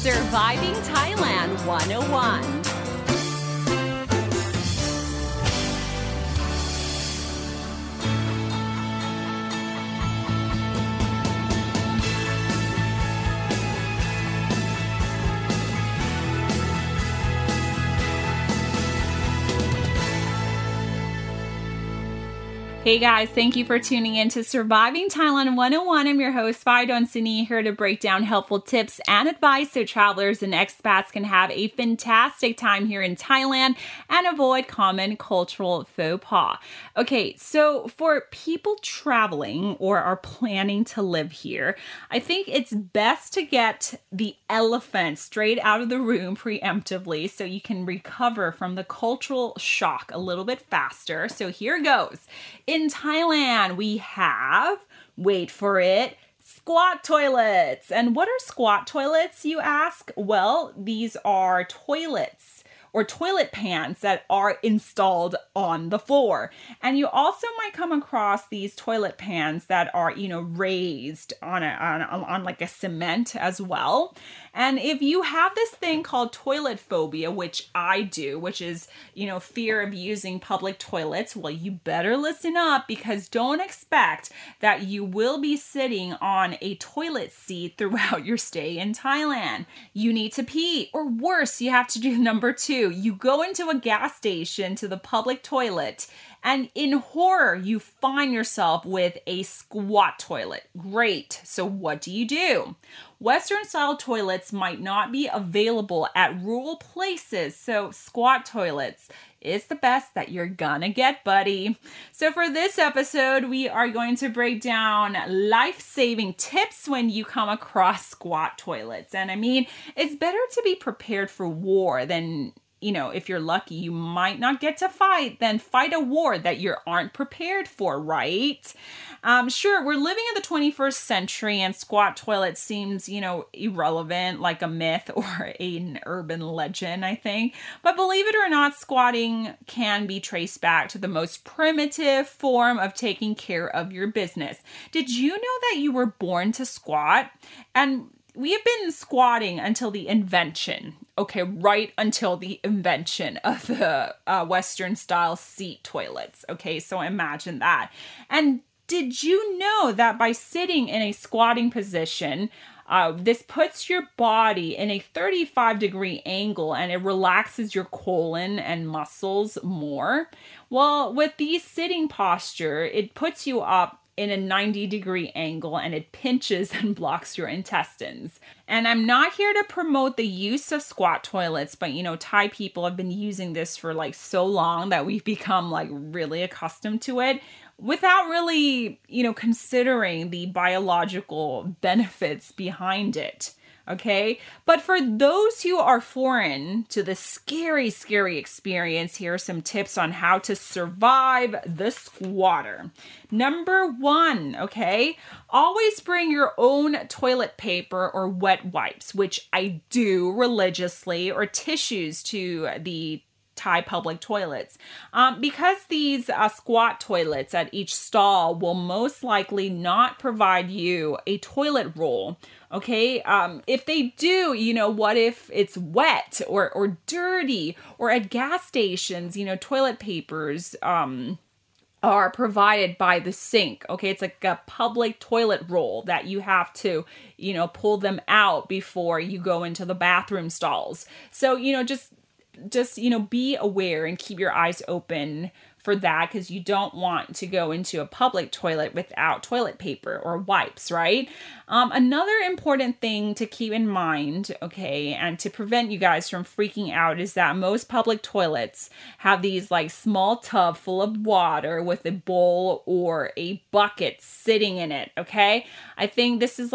Surviving Thailand 101. Hey guys, thank you for tuning in to Surviving Thailand 101. I'm your host, Fido Sini, here to break down helpful tips and advice so travelers and expats can have a fantastic time here in Thailand and avoid common cultural faux pas. Okay, so for people traveling or are planning to live here, I think it's best to get the elephant straight out of the room preemptively so you can recover from the cultural shock a little bit faster. So here goes. In Thailand, we have, wait for it, squat toilets. And what are squat toilets, you ask? Well, these are toilets or toilet pans that are installed on the floor. And you also might come across these toilet pans that are, raised on like a cement as well. And if you have this thing called toilet phobia, which I do, which is, fear of using public toilets, well, you better listen up because don't expect that you will be sitting on a toilet seat throughout your stay in Thailand. You need to pee, or worse, you have to do number 2. You go into a gas station to the public toilet, and in horror, you find yourself with a squat toilet. Great. So what do? Western-style toilets might not be available at rural places, so squat toilets is the best that you're gonna get, buddy. So for this episode, we are going to break down life-saving tips when you come across squat toilets. And I mean, it's better to be prepared for war than if you're lucky, you might not get to fight, then fight a war that you aren't prepared for, right? Sure, we're living in the 21st century and squat toilets seems, irrelevant, like a myth or an urban legend, I think. But believe it or not, squatting can be traced back to the most primitive form of taking care of your business. Did you know that you were born to squat? And we have been squatting until the invention, right until the invention of the Western style seat toilets. Okay, so imagine that. And did you know that by sitting in a squatting position, this puts your body in a 35-degree angle and it relaxes your colon and muscles more? Well, with the sitting posture, it puts you up in a 90-degree angle and it pinches and blocks your intestines. And I'm not here to promote the use of squat toilets, but Thai people have been using this for so long that we've become really accustomed to it without really, considering the biological benefits behind it. Okay, but for those who are foreign to the scary, scary experience, here are some tips on how to survive the squatter. Number 1, always bring your own toilet paper or wet wipes, which I do religiously, or tissues to the Thai public toilets. Because these squat toilets at each stall will most likely not provide you a toilet roll. Okay, if they do, what if it's wet or dirty, or at gas stations, toilet papers are provided by the sink. Okay, it's like a public toilet roll that you have to, pull them out before you go into the bathroom stalls. So, just be aware and keep your eyes open for that, because you don't want to go into a public toilet without toilet paper or wipes, right? Another important thing to keep in mind, and to prevent you guys from freaking out, is that most public toilets have these small tub full of water with a bowl or a bucket sitting in it, I think this is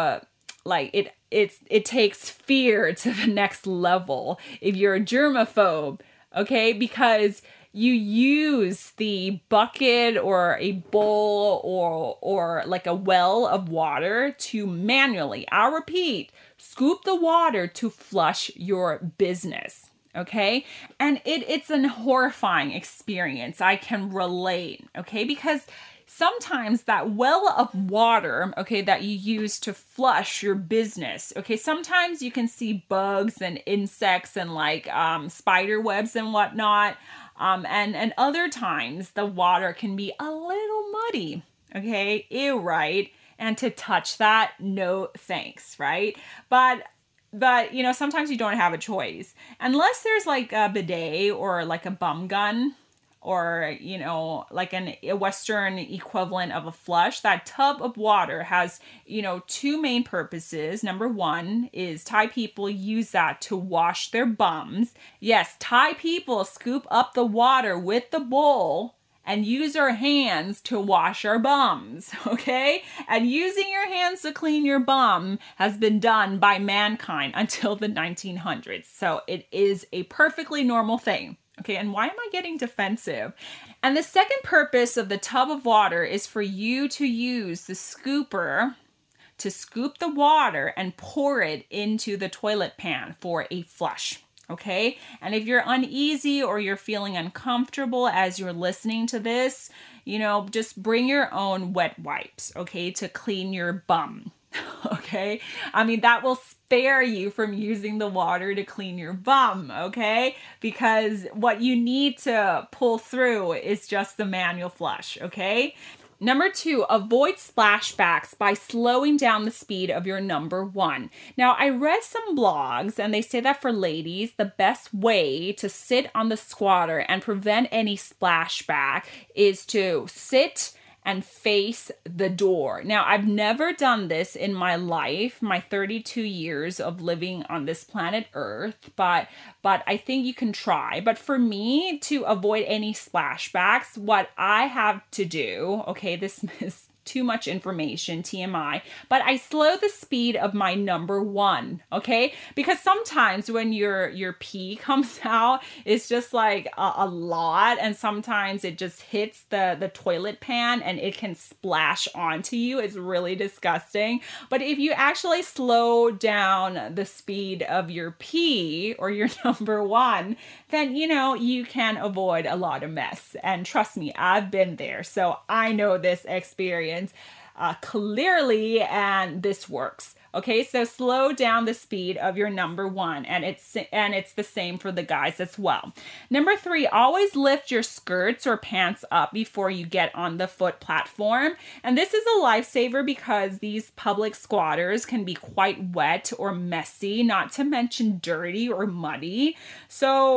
it takes fear to the next level if you're a germaphobe, because you use the bucket or a bowl or a well of water to manually, I'll repeat, scoop the water to flush your business. And it's an horrifying experience. I can relate, because sometimes that well of water, okay, that you use to flush your business, okay, sometimes you can see bugs and insects and like spider webs and whatnot. And other times the water can be a little muddy, okay, ew, right? And to touch that, no thanks, right? But you know, sometimes you don't have a choice. Unless there's like a bidet or like a bum gun or, you know, like a Western equivalent of a flush, that tub of water has, you know, two main purposes. Number one is Thai people use that to wash their bums. Yes, Thai people scoop up the water with the bowl and use our hands to wash our bums, okay? And using your hands to clean your bum has been done by mankind until the 1900s. So it is a perfectly normal thing, okay? And why am I getting defensive? And the second purpose of the tub of water is for you to use the scooper to scoop the water and pour it into the toilet pan for a flush. Okay. And if you're uneasy or you're feeling uncomfortable as you're listening to this, you know, just bring your own wet wipes, okay, to clean your bum. Okay. I mean, that will spare you from using the water to clean your bum. Okay. Because what you need to pull through is just the manual flush. Okay. Number 2, avoid splashbacks by slowing down the speed of your number 1. Now, I read some blogs and they say that for ladies, the best way to sit on the squatter and prevent any splashback is to sit and face the door. Now, I've never done this in my life, my 32 years of living on this planet Earth, but I think you can try. But for me, to avoid any splashbacks, what I have to do, okay, this is too much information, TMI, but I slow the speed of my number 1, okay? Because sometimes when your pee comes out, it's just like a lot, and sometimes it just hits the toilet pan and it can splash onto you. It's really disgusting. But if you actually slow down the speed of your pee or your number 1, then, you know, you can avoid a lot of mess. And trust me, I've been there, so I know this experience clearly, and this works. Okay, so slow down the speed of your number 1, and it's the same for the guys as well. Number 3, always lift your skirts or pants up before you get on the foot platform. And this is a lifesaver because these public squatters can be quite wet or messy, not to mention dirty or muddy. So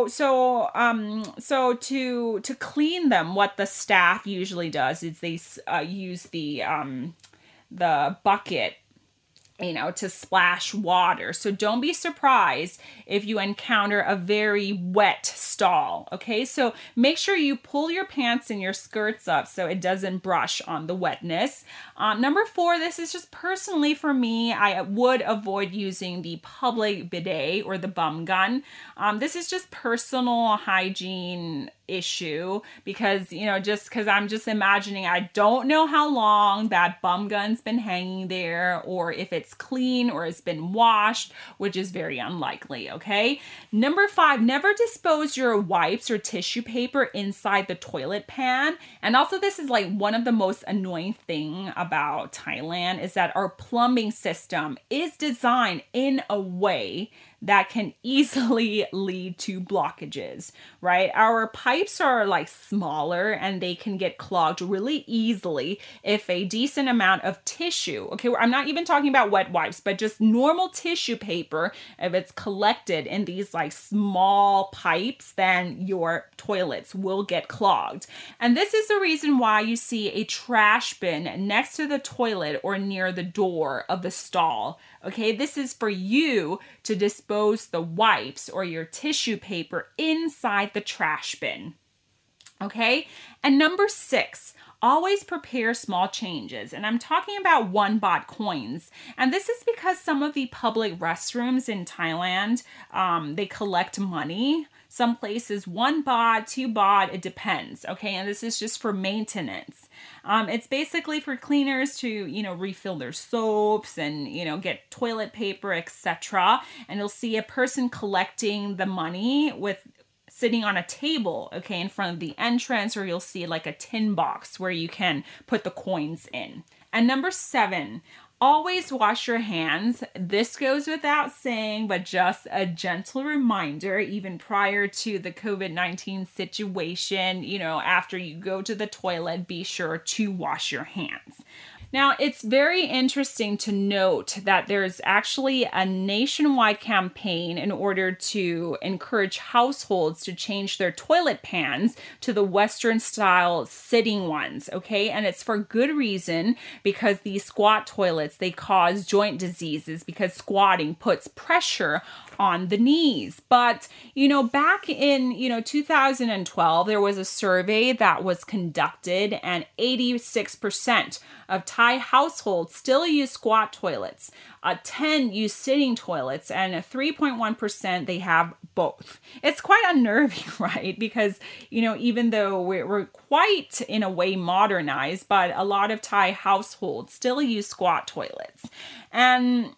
to clean them, what the staff usually does is they use the bucket, you know, to splash water. So don't be surprised if you encounter a very wet stall. Okay, so make sure you pull your pants and your skirts up so it doesn't brush on the wetness. Number 4, this is just personally for me, I would avoid using the public bidet or the bum gun. This is just personal hygiene issue because, you know, just because I'm just imagining, I don't know how long that bum gun's been hanging there or if it's clean or it's been washed, which is very unlikely. Okay. Number 5, never dispose your wipes or tissue paper inside the toilet pan. And also, this is like one of the most annoying thing about Thailand is that our plumbing system is designed in a way that can easily lead to blockages, right? Our pipes are like smaller and they can get clogged really easily if a decent amount of tissue, okay, I'm not even talking about wet wipes, but just normal tissue paper, if it's collected in these like small pipes, then your toilets will get clogged. And this is the reason why you see a trash bin next to the toilet or near the door of the stall. Okay, this is for you to dispose the wipes or your tissue paper inside the trash bin. Okay, and number 6, always prepare small changes. And I'm talking about 1 baht coins. And this is because some of the public restrooms in Thailand, they collect money. Some places 1 baht, 2 baht, it depends. Okay, and this is just for maintenance. It's basically for cleaners to, you know, refill their soaps and, you know, get toilet paper, etc. And you'll see a person collecting the money with sitting on a table, okay, in front of the entrance, or you'll see like a tin box where you can put the coins in. And number 7, always wash your hands. This goes without saying, but just a gentle reminder, even prior to the COVID-19 situation, after you go to the toilet, be sure to wash your hands. Now, it's very interesting to note that there's actually a nationwide campaign in order to encourage households to change their toilet pans to the Western style sitting ones, okay? And it's for good reason, because these squat toilets, they cause joint diseases because squatting puts pressure on the knees. But, back in, 2012, there was a survey that was conducted, and 86% of Thai households still use squat toilets. 10 use sitting toilets, and 3.1% they have both. It's quite unnerving, right? Because, even though we're quite in a way modernized, but a lot of Thai households still use squat toilets. And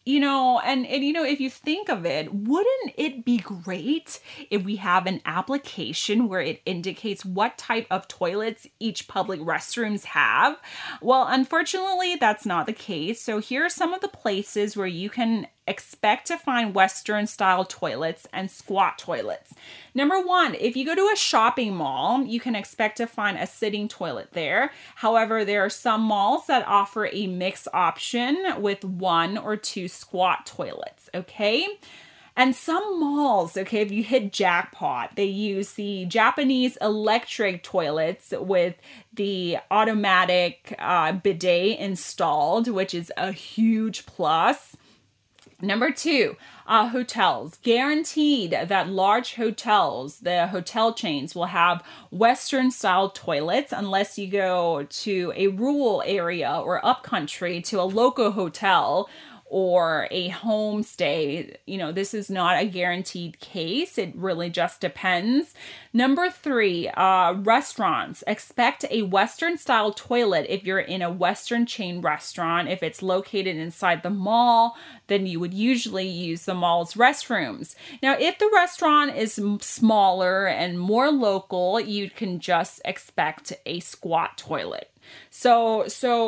if you think of it, wouldn't it be great if we have an application where it indicates what type of toilets each public restrooms have? Well, unfortunately, that's not the case. So here are some of the places where you can expect to find Western style toilets and squat toilets. Number 1, if you go to a shopping mall, you can expect to find a sitting toilet there. However, there are some malls that offer a mixed option with 1 or 2 squat toilets, okay? And some malls, okay, if you hit jackpot, they use the Japanese electric toilets with the automatic bidet installed, which is a huge plus. Number 2, hotels. Guaranteed that large hotels, the hotel chains, will have Western style toilets unless you go to a rural area or upcountry to a local hotel or a homestay. This is not a guaranteed case. It really just depends. Number 3, restaurants. Expect a Western style toilet if you're in a Western chain restaurant. If it's located inside the mall, then you would usually use the mall's restrooms. Now, if the restaurant is smaller and more local, you can just expect a squat toilet. So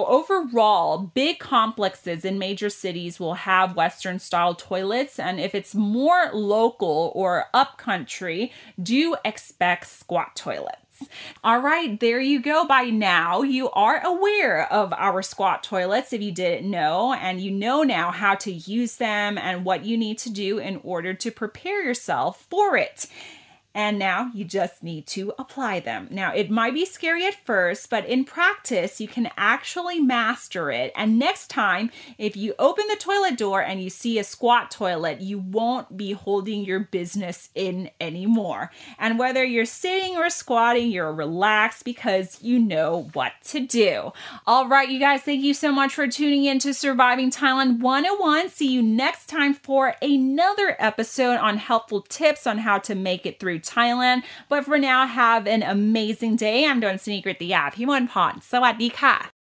overall, big complexes in major cities will have Western style toilets, and if it's more local or upcountry, do expect squat toilets. All right, there you go. By now, you are aware of our squat toilets if you didn't know, and you know now how to use them and what you need to do in order to prepare yourself for it. And now you just need to apply them. Now, it might be scary at first, but in practice, you can actually master it. And next time, if you open the toilet door and you see a squat toilet, you won't be holding your business in anymore. And whether you're sitting or squatting, you're relaxed because you know what to do. All right, you guys, thank you so much for tuning in to Surviving Thailand 101. See you next time for another episode on helpful tips on how to make it through Thailand. But for now, have an amazing day. I'm Dawn Sunigritiyah พิมลพร สวัสดีค่ะ